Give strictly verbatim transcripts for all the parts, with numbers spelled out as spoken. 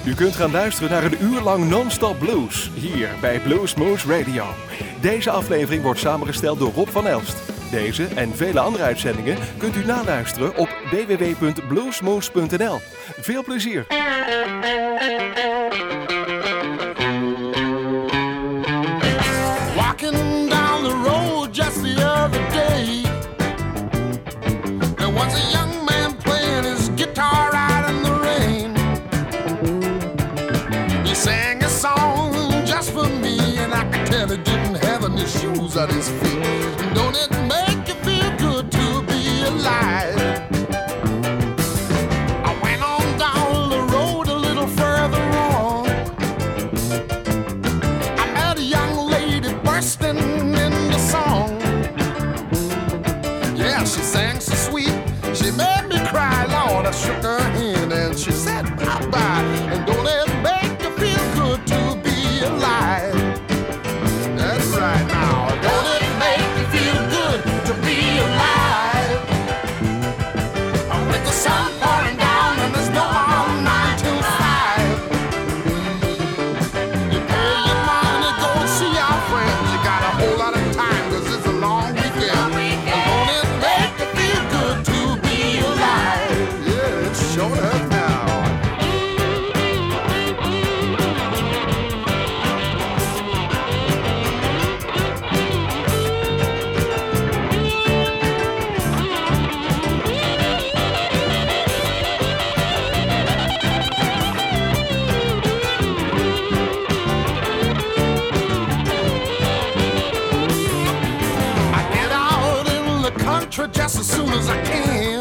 U kunt gaan luisteren naar een uur lang non-stop blues, hier bij Bluesmoose Radio. Deze aflevering wordt samengesteld door Rob van Elst. Deze en vele andere uitzendingen kunt u naluisteren op w w w punt bluesmoose punt n l. Veel plezier! Walking down the road just the other day, there was a young man playing his guitar out in the rain. He sang a song just for me, and I could tell he didn't have any shoes on his feet. Don't it make you feel good to be alive? I went on down the road a little further on. I met a young lady bursting into song. Yeah, she sang so sweet, she made me cry. Lord, I shook her hand and she said bye-bye. And don't it make you feel good to be alive? That's right now. Don't it make you feel good to be alive? With the sun pouring down and there's no more nine till five. You pay your money, go and see our friends. You got a whole lot of time 'cause it's a long weekend. And don't it make you feel good to be alive? Yeah, it sure does now. I get out in the country just as soon as I can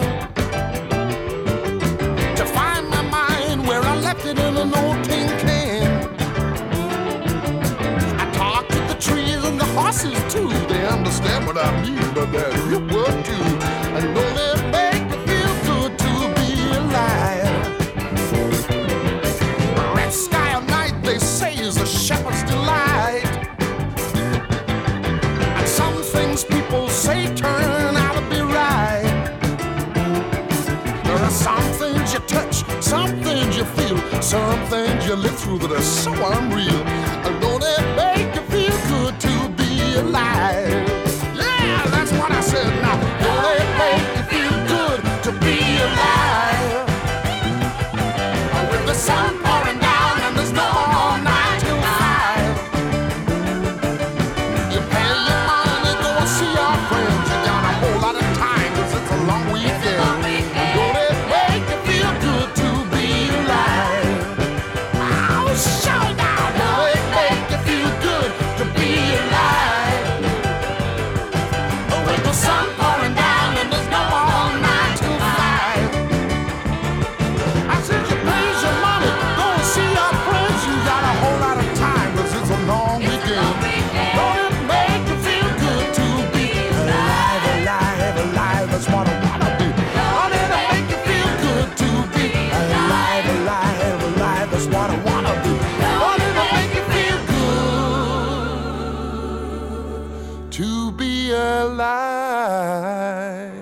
to find my mind where I left it in an old tin can. I talk to the trees and the horses too. They understand what I mean, but they're real work too. And don't it make you feel good to be alive? The red sky at night, they say, is a shepherd's delight. And some things people say turn out to be right. There are some things you touch, some things you feel, some things you live through that are so unreal. And don't it make you feel good to be alive? Yeah, that's what I said now. Don't it make you feel good to be alive? With the sun pouring down and there's no more nine till five. You pay your money, go and see our friends. You got a whole lot of time 'cause it's a long weekend. And don't it make you feel good to be alive? Oh, show now. Don't it make you feel good to be alive? With the sun pouring down and there's no more nine till five. I said you pay your money, go and see our friends. You got a whole lot of time 'cause it's a long weekend. Don't it make you feel good to be alive, alive, alive? That's what I wanna be. Don't it make you feel good to be alive, alive, alive? That's what I wanna be. Don't it make you feel good to be alive?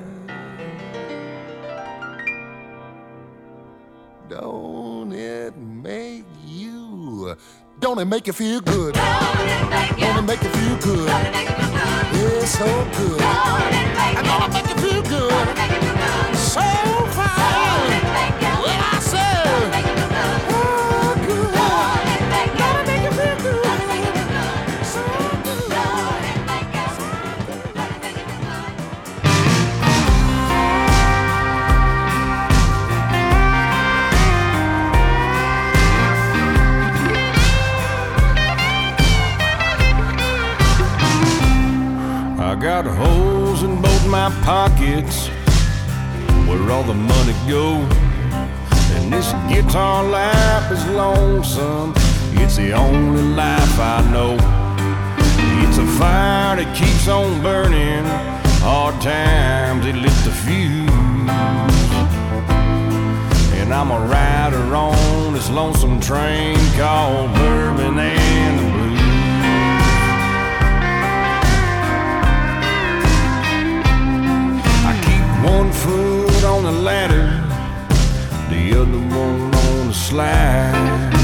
Don't it make you? Don't it make you feel good? Don't it make you feel good? Yeah, so good. And don't it make you feel good? So fine. When I say, oh, good. Don't it make you feel good? So good. I got holes in both my pockets where all the money goes. And this guitar life is lonesome. It's the only life I know. It's a fire that keeps on burning. Hard times, it lit the fuse. And I'm a rider on this lonesome train called Bourbon and the Blues. One foot on the ladder, the other one on the slide.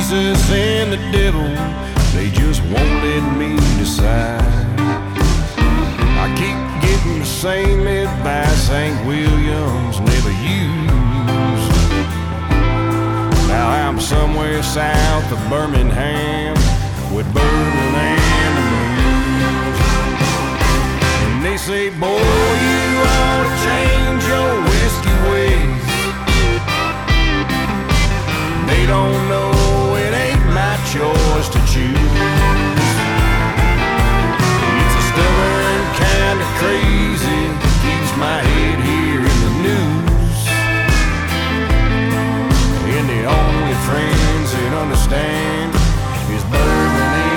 Jesus and the devil, they just won't let me decide. I keep getting the same advice Hank Williams never used. Now I'm somewhere south of Birmingham with bourbon and the blues. And they say, boy, you ought to change your whiskey ways. They don't know it ain't my choice to choose. It's a stubborn kind of crazy, keeps my head here in the news. And the only friends that understand is bourbon and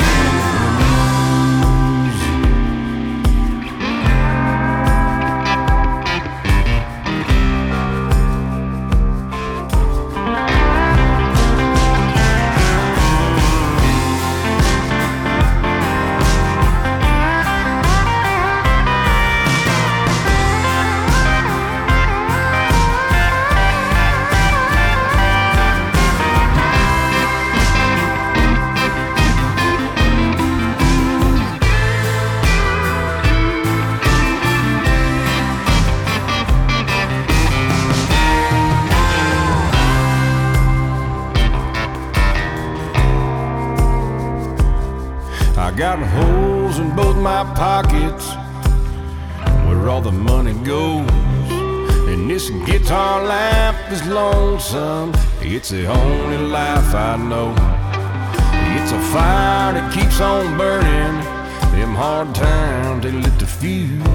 got holes in both my pockets where all the money goes. And this guitar life is lonesome, it's the only life I know. It's a fire that keeps on burning, them hard times they lit the fuse.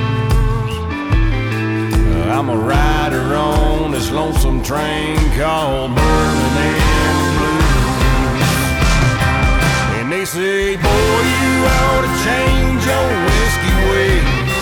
I'm a rider on this lonesome train called Birmingham Blues. And they say, boy, you ought to change your whiskey ways.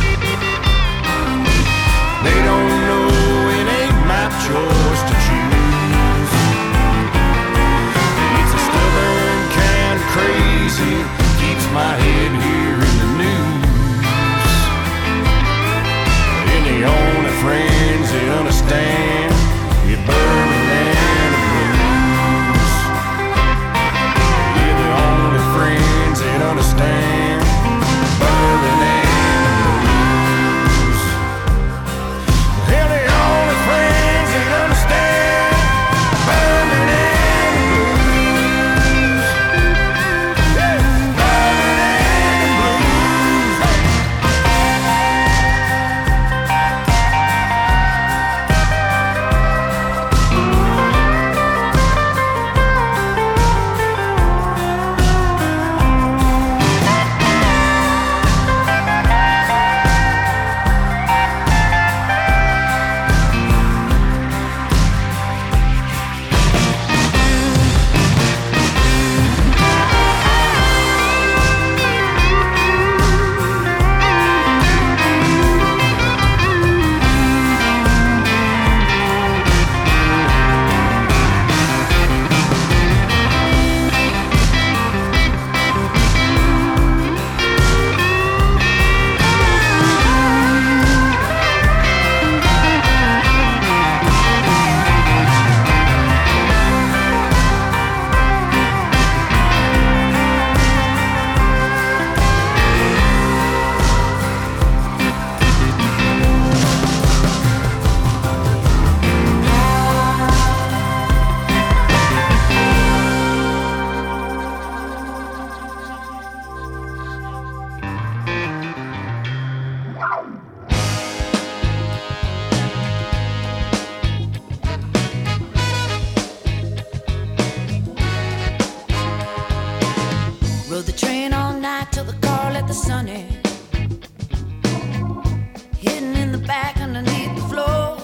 They don't know it ain't my choice to choose. It's a stubborn kind of crazy, keeps my head here in the news. And the only friends that understand is Birmingham Blues. Yeah, the only friends that understand Birmingham Blues. They're the only friends that understand Birmingham Blues. Yeah, Birmingham Blues. Rode the train all night till the car let the sun in. Hidden in the back underneath the floor.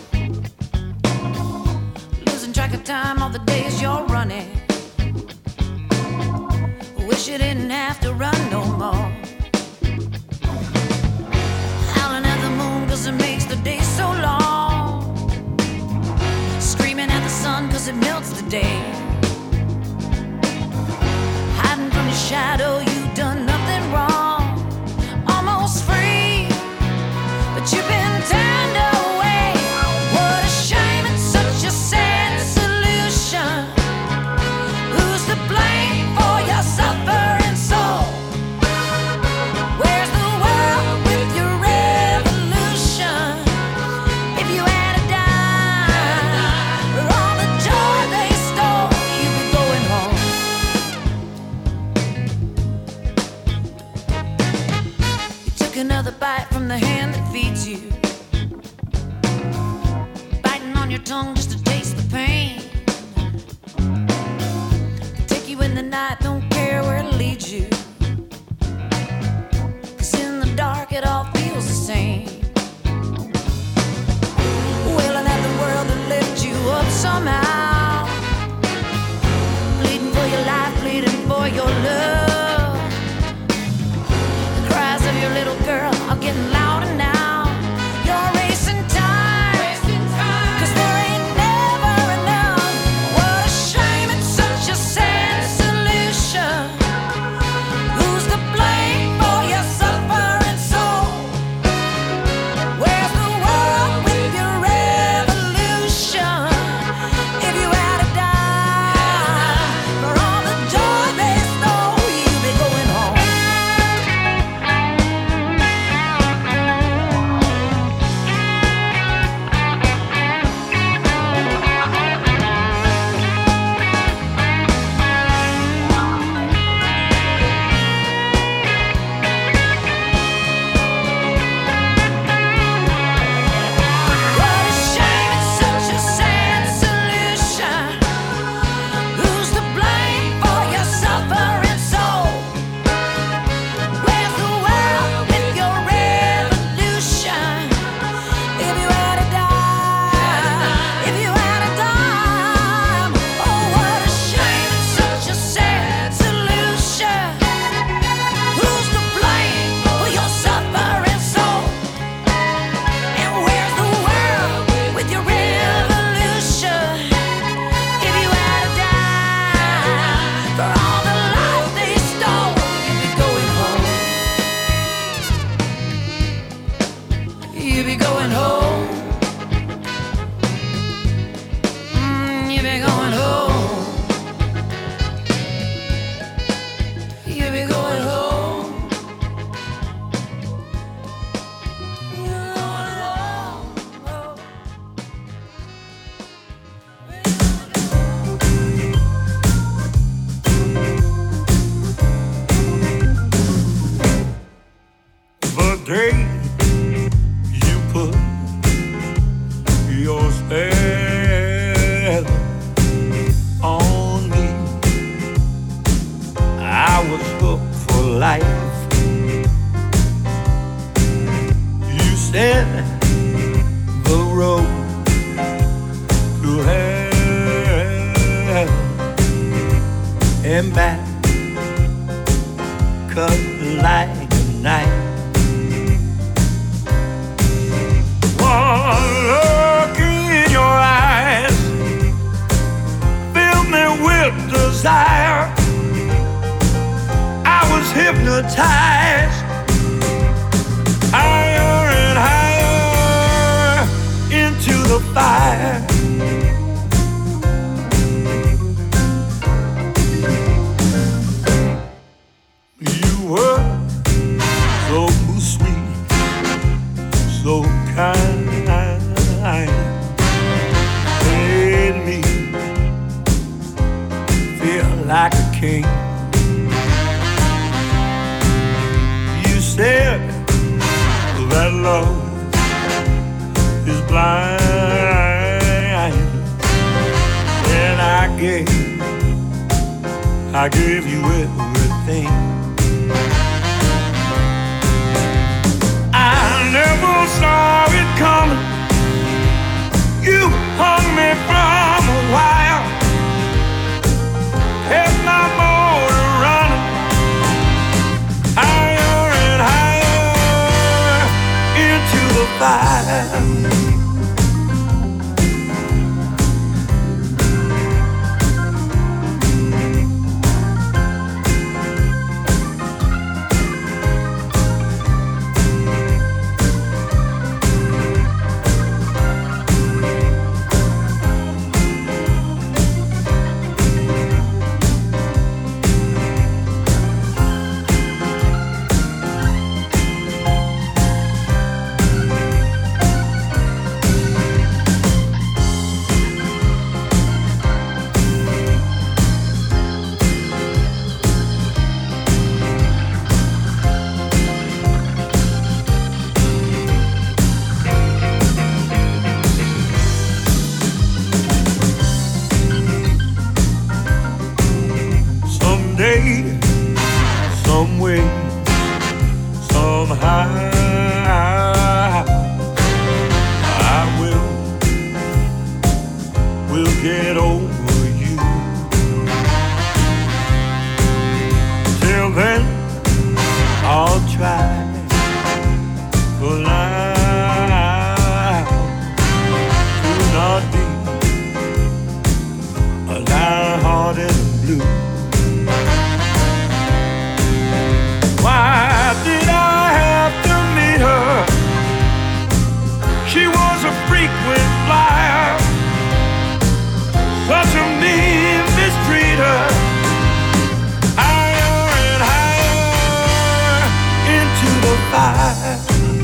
Losing track of time all the days you're running. Wish you didn't have to run no more. Howling at the moon cause it makes the day so long. Screaming at the sun cause it melts the day. Hiding from your shadow, you've done nothing wrong. Almost free, but you've been turned away. What a shame, it's such a sad solution. You be going home. Mm, you be going home. You be going home. You going home. The day you put your spell on me, I was hooked for life. You said the road to hell and back cut like a knife. One look in your eyes filled me with desire. I was hypnotized, higher and higher into the fire. You were so sweet, so kind, made me feel like a king. You said that love is blind, and I gave, I gave you everything. I never saw it coming. You hung me from a wire, kept my motor running higher and higher into the fire. Some way, somehow, I will, will get over you. Till then, I'll try for life to not be a downhearted blue. Why did I have to meet her? She was a frequent flyer, such a mean mistreater. Higher and higher into the fire.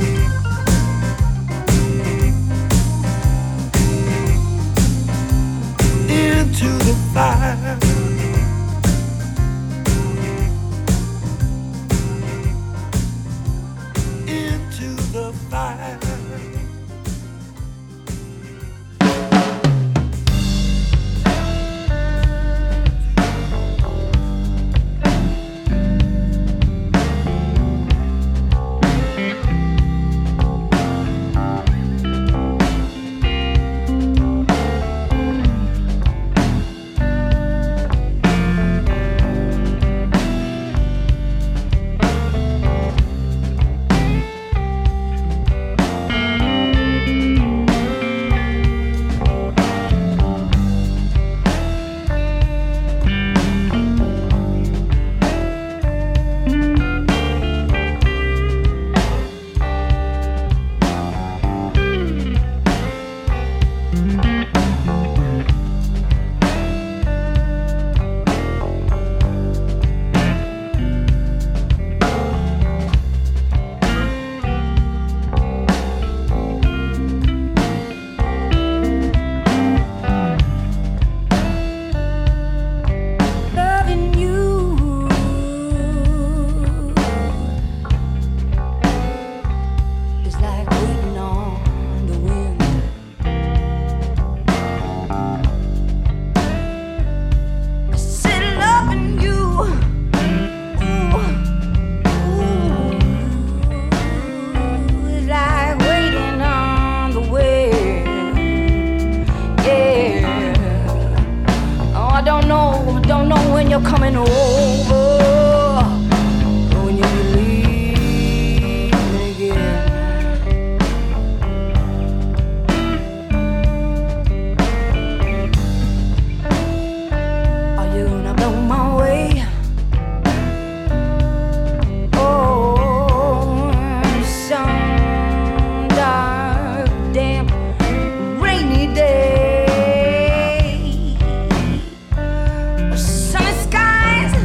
Into the fire. you're coming over, when you leave again. Are you gonna blow my way? Oh, some dark, damp, rainy day. Sunny skies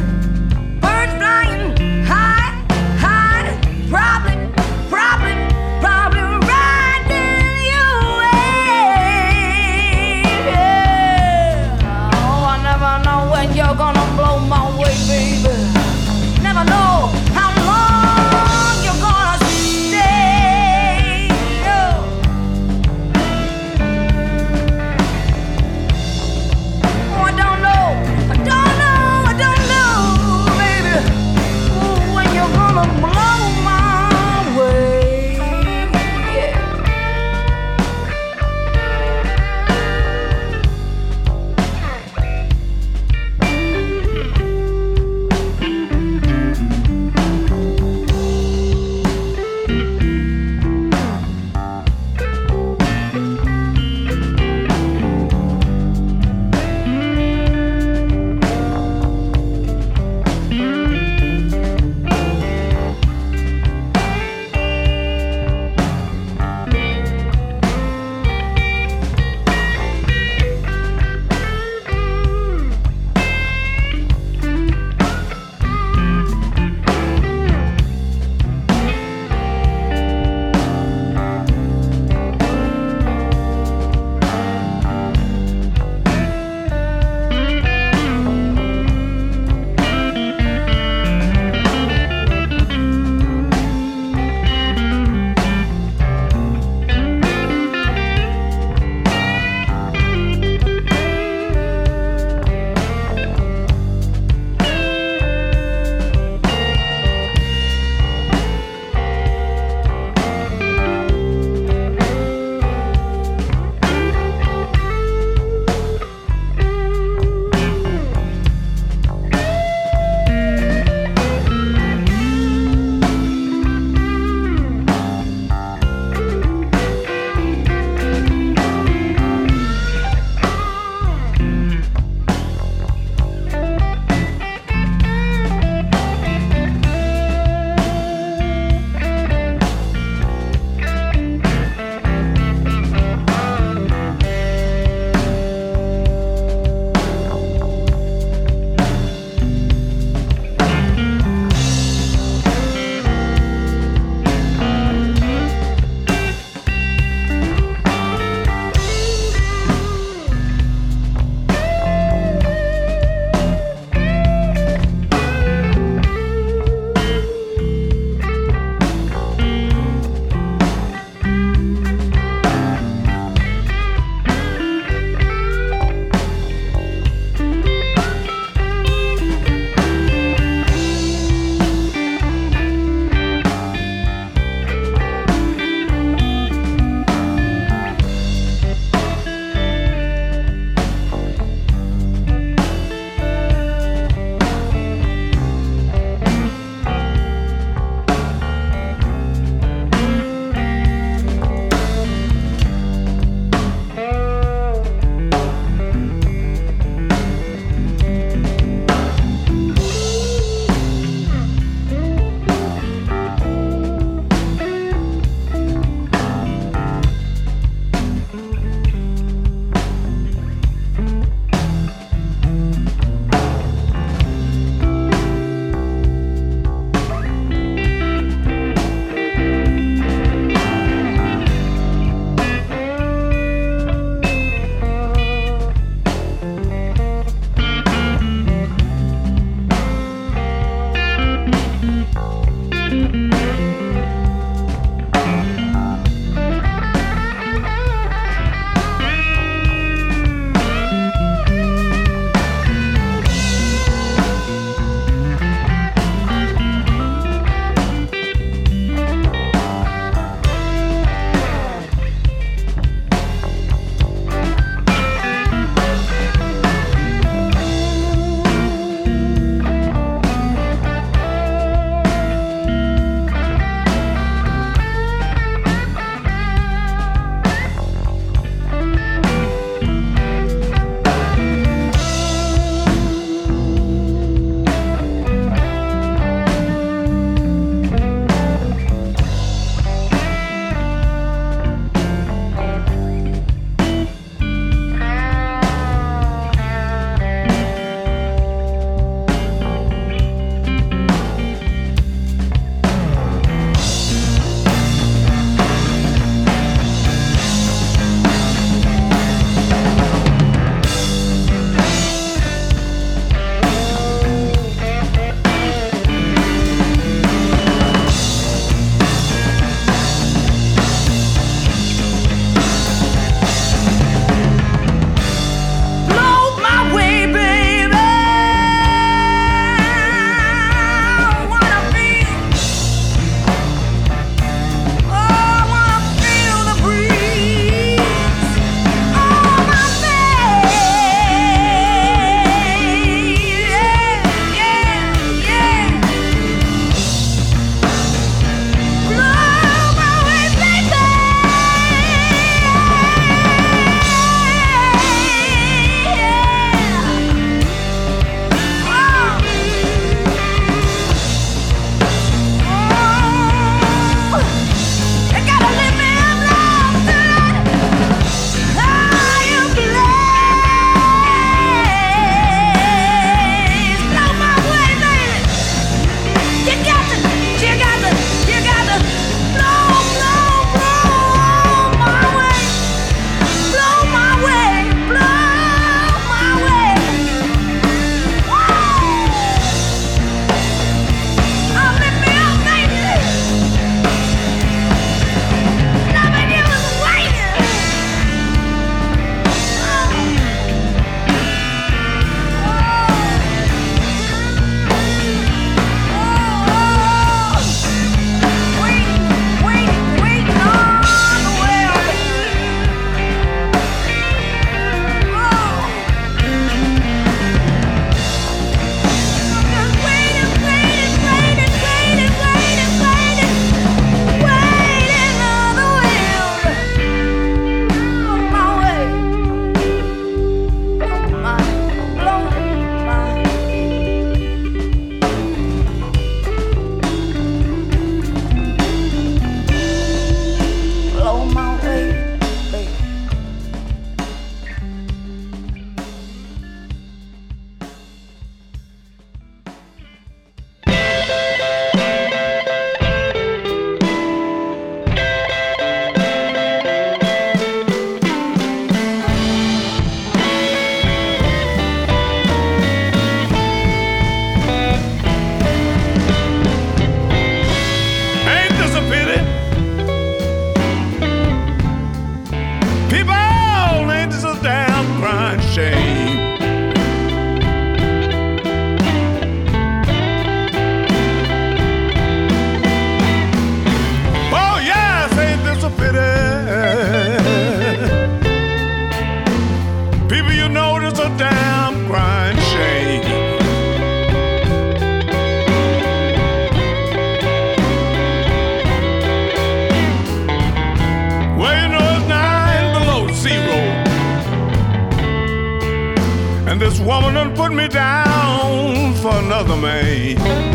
And this woman done put me down for another man.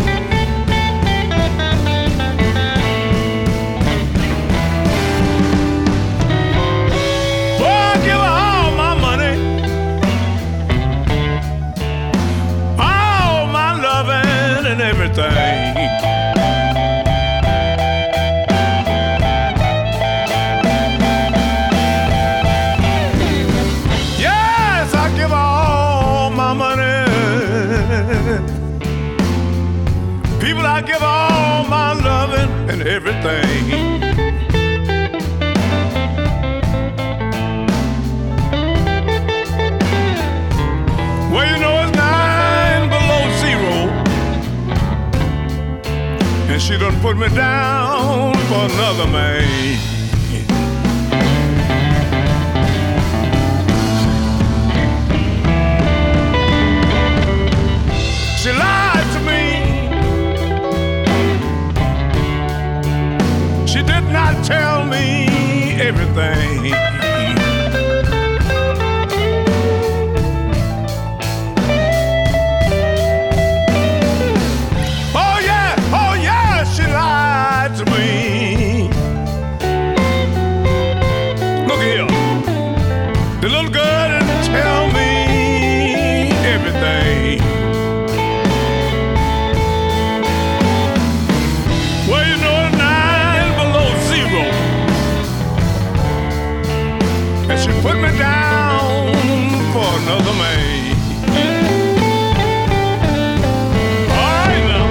Boy, I give her all my money, all my loving and everything. People, I give all my loving and everything. Well, you know it's nine below zero, and she done put me down for another man. She lied to me. She did not tell me everything. Oh yeah, oh yeah, she lied to me. Look here, the little girl didn't tell me everything. Well, you know it's nine below zero, and she put me down for another man. All right now.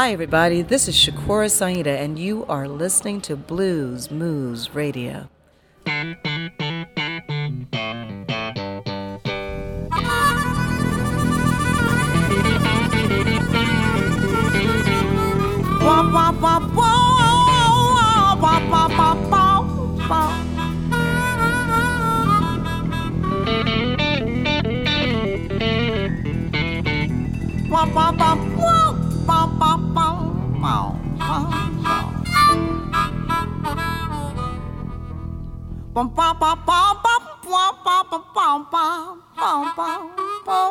Hi, everybody. This is Shakura Saida, and you are listening to Blues Moose Radio. Wah, wah, wah, wah, wah, wah, wah, wah, wah. Wah, wah, wah, wah, wah, wah, wah, wah, wah. Bum, bum, bum, bum, bum, bum, bum, bum, bum, bum, bum, bum.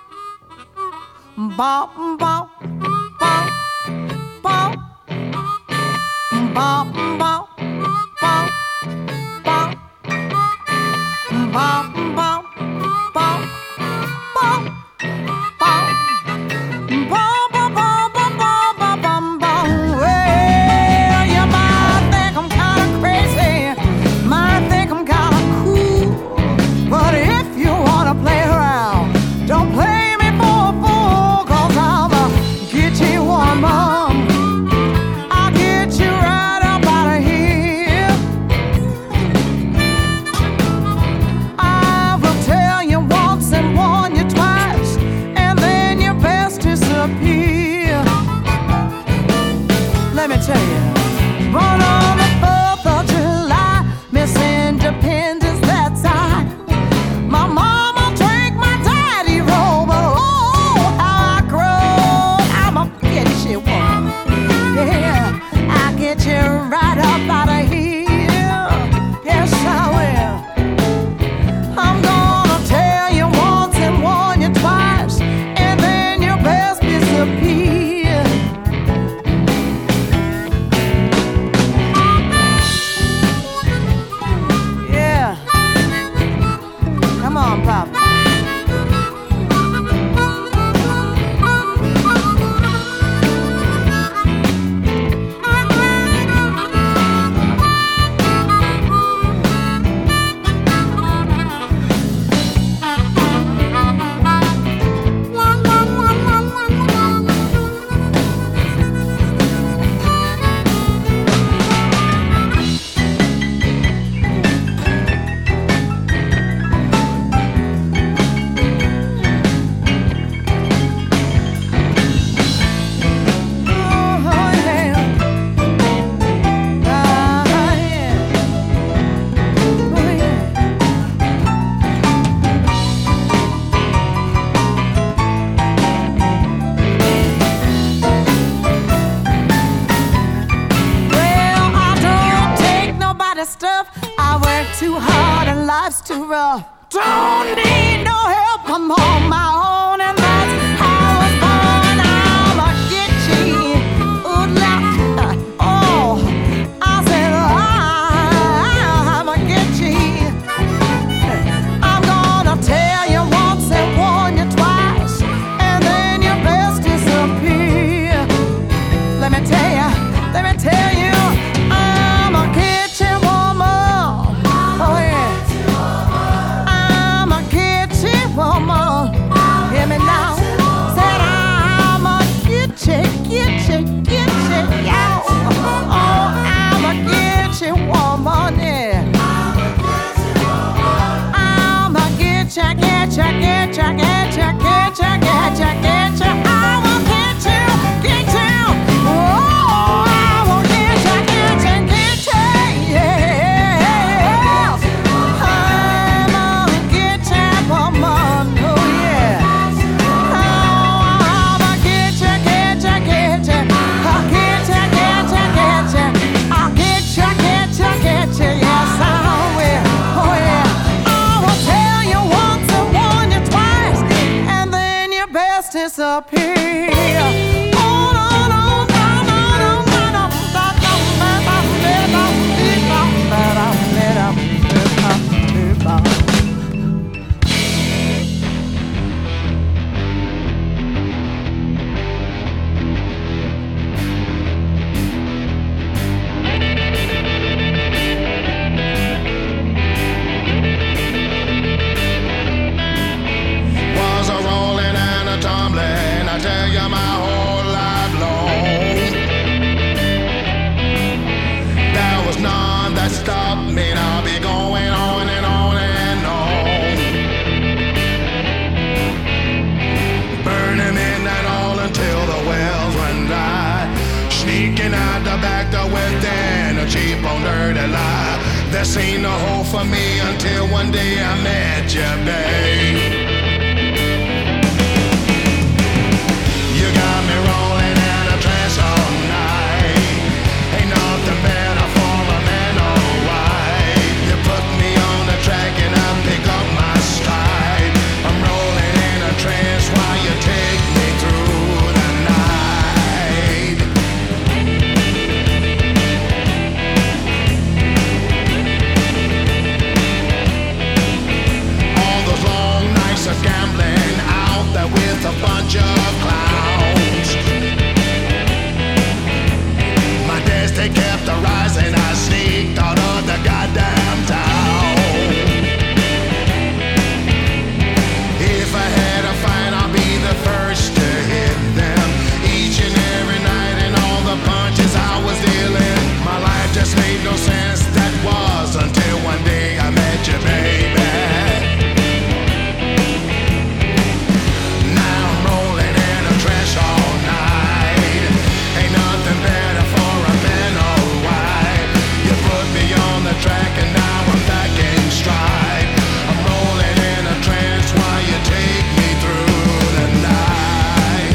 Bum, bum, bum. Bum, bum, bum, bum, bum, bum, bum, bum, bum, bum, bum, bum. Well, you might think I'm kinda crazy, might think I'm kinda cool, but if you wanna play around, don't play me for a fool, 'cause I'ma get you one more. Let me tell you, born on the fourth of July, Miss Independence, that's I. My mama drank my daddy roll, but oh, how I grow. I'ma get you one. Yeah, I'll get you right up out of here. Yes, I will. I'm gonna tell you once and warn you twice, and then your best disappear. Don't need no help, I'm on my own, and that's how I was born. I'ma get you, ooh, la, oh, I said I'ma get you. I'm gonna tell you once and warn you twice, and then your best disappear. Let me tell you, let me tell you, I'ma get you one more. Oh yeah. Woman, hear me now. Said I'ma get you, get you, get you, yeah. Oh, I'ma get you, woman, yeah. I'ma get you, get you, get you, get you, get you, get you, get you. I'ma get you, get you. Oh, I'ma get you, get you, get you, yeah. I'ma get you, woman. Disappear. Oh, no, no, no, no, no, no, no, no, no, no, Was a rolling and a tumbling, I tell This ain't no hope for me until one day I met you, babe. You got me rolling in a trance all night. Ain't nothing better for a man, alright. You put me on the track and I pick up my stride. I'm rolling in a trance while you take me through the night. All those long nights of gambling out there with a bunch of clowns. My days, they kept a rising. I sneaked out of the goddamn town. If I had a fight, I'll be the first to hit them. Each and every night and all the punches I was dealing. My life just made no sense. That was until one day I met you, baby. Track and now I'm back in stride. I'm rolling in a trance while you take me through the night.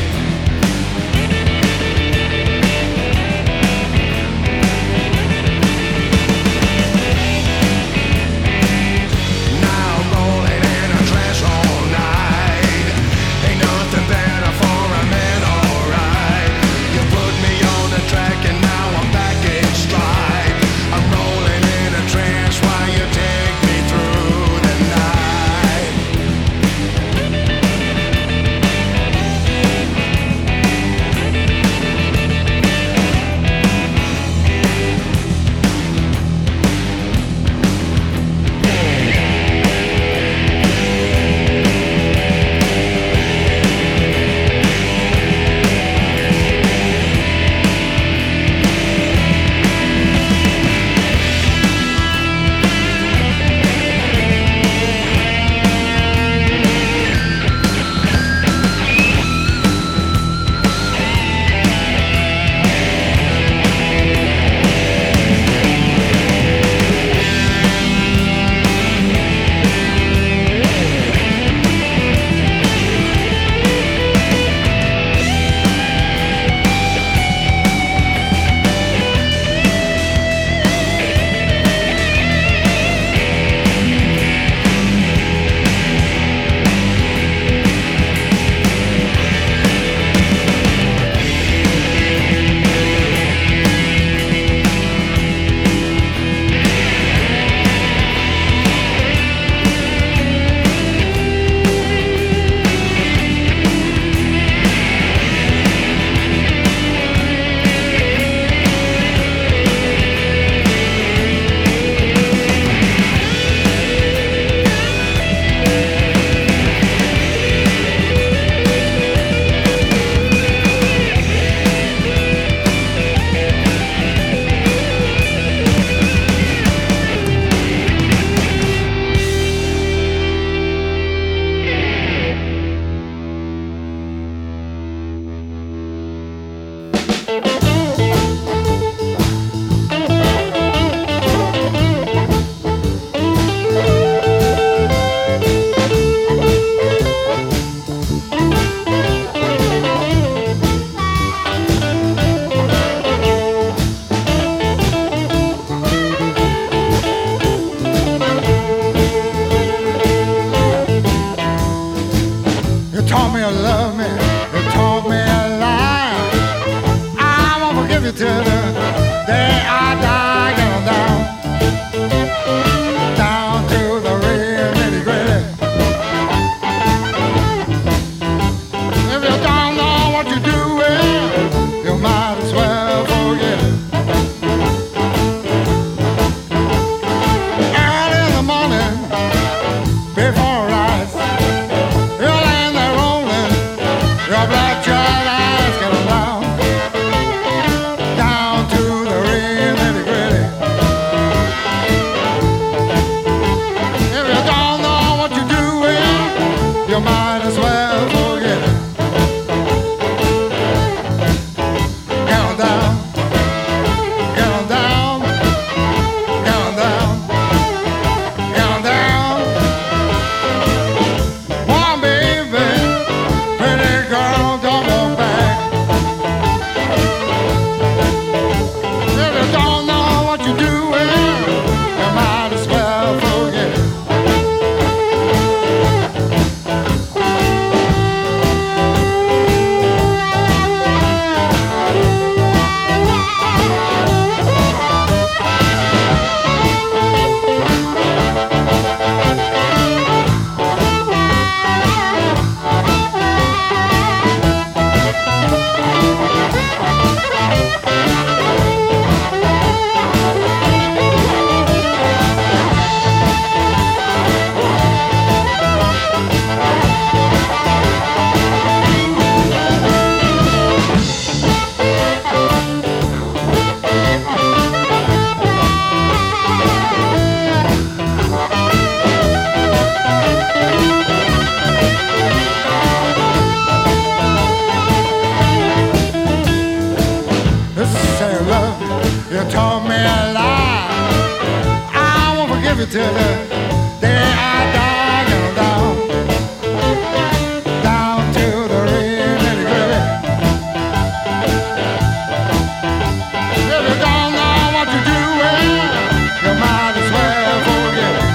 lie. I won't forgive you till the day I die. Down, down, down to the rim and the gravy. If you don't know what you're doing, you might as well forget it.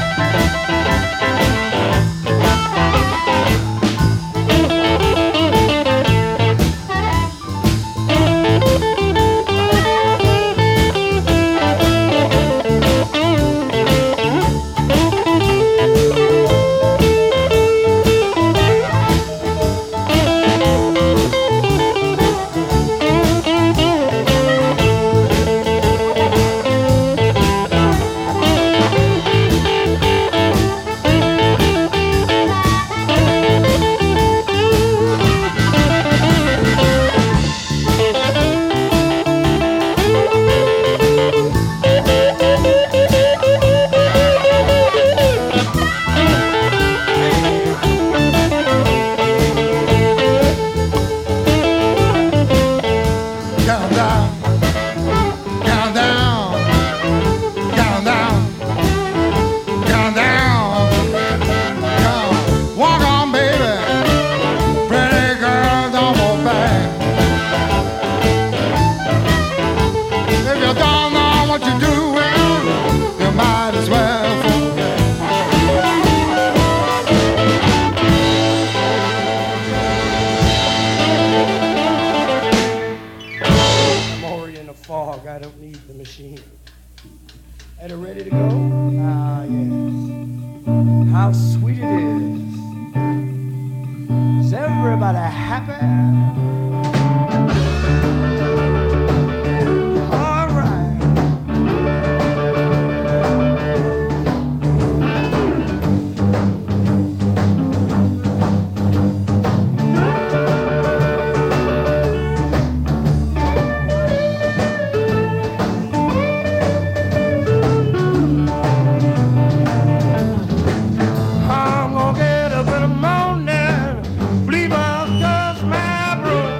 I'm gonna get up in the morning, believe I'll dust my broom.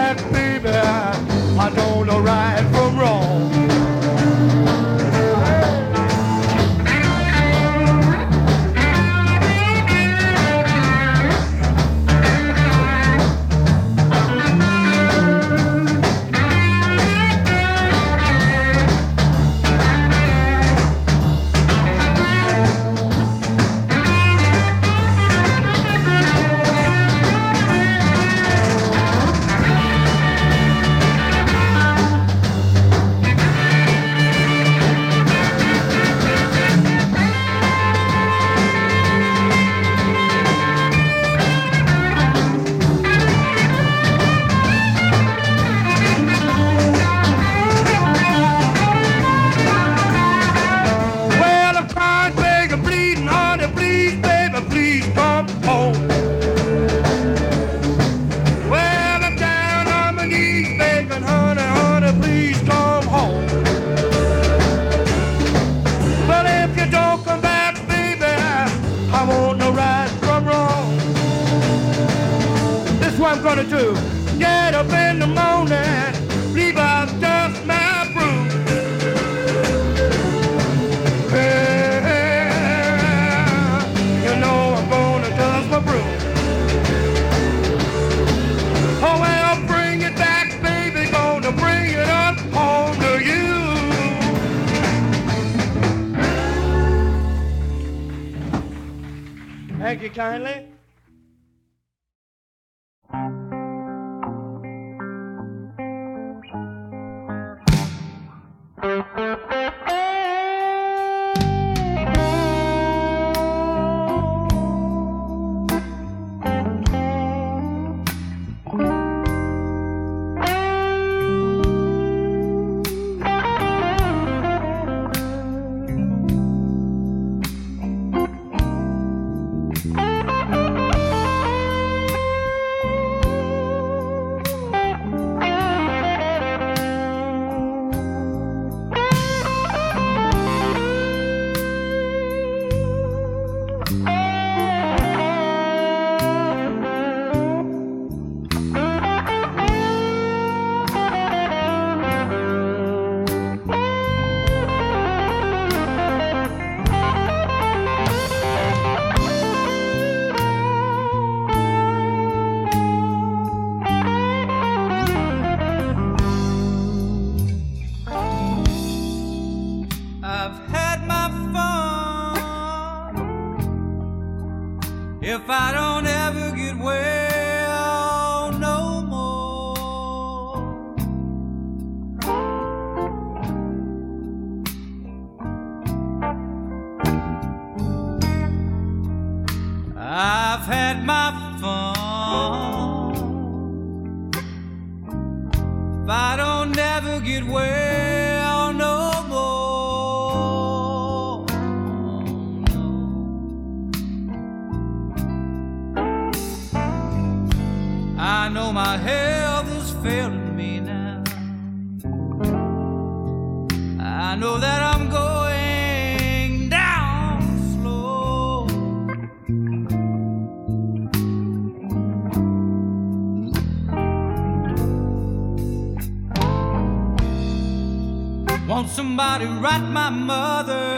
back, baby, I don't know right from wrong. Thank you kindly. If I don't ever get well no more, I've had my fun. If I don't ever get well no more, I know my health is failing me now. I know that I'm going down slow. Want somebody write my mother,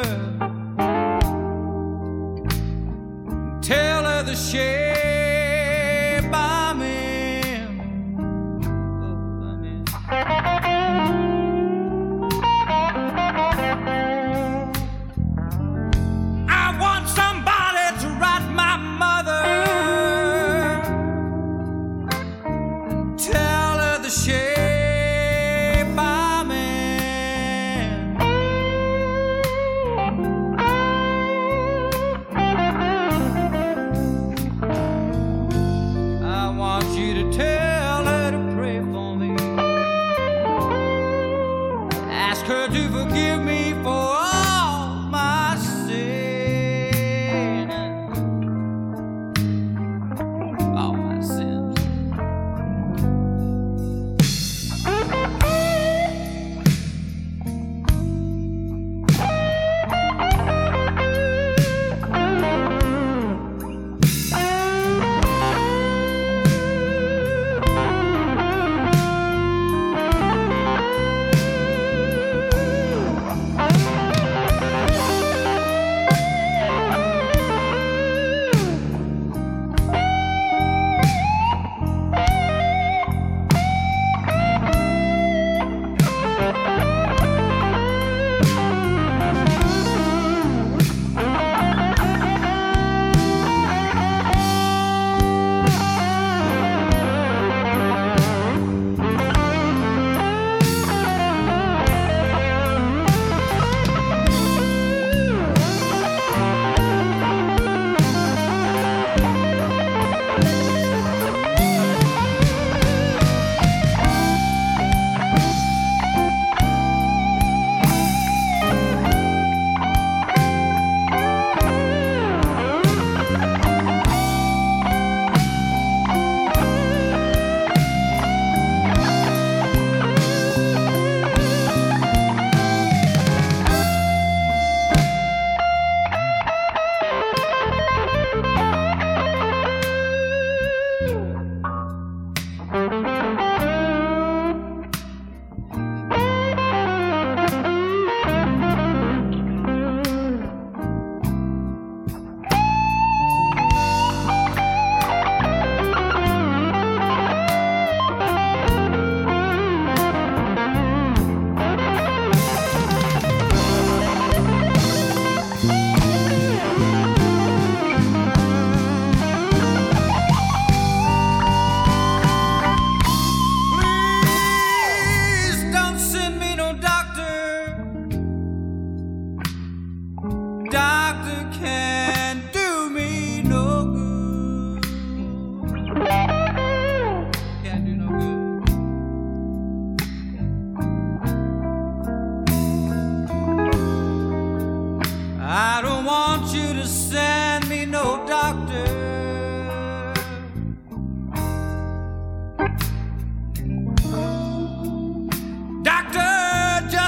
tell her the shape I'm in. Oh, I'm in. I want somebody to write my mother, tell her the shape I'm in. I want you to tell her to pray for me, ask her to forgive me for all my sin, all my sins.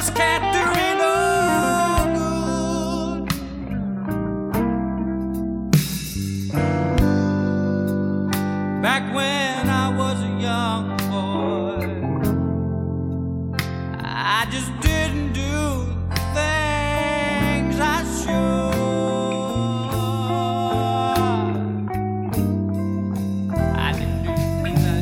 just can't do me no good. Back when I was a young boy, I just didn't do the things I should. I didn't do the things I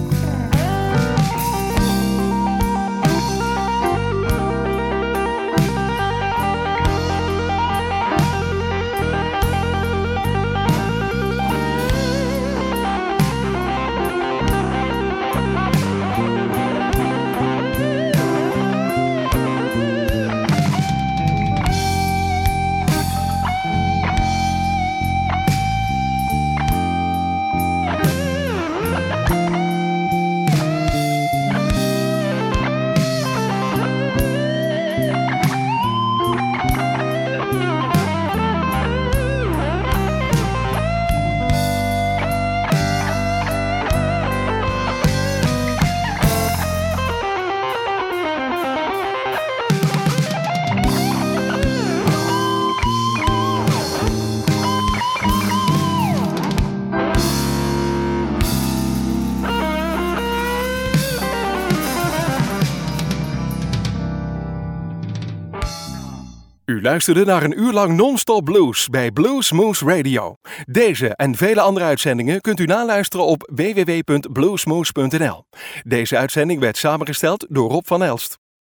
U luisterde naar een uur lang non-stop blues bij Blues Moose Radio. Deze en vele andere uitzendingen kunt u naluisteren op w w w punt bluesmoose punt n l. Deze uitzending werd samengesteld door Rob van Elst.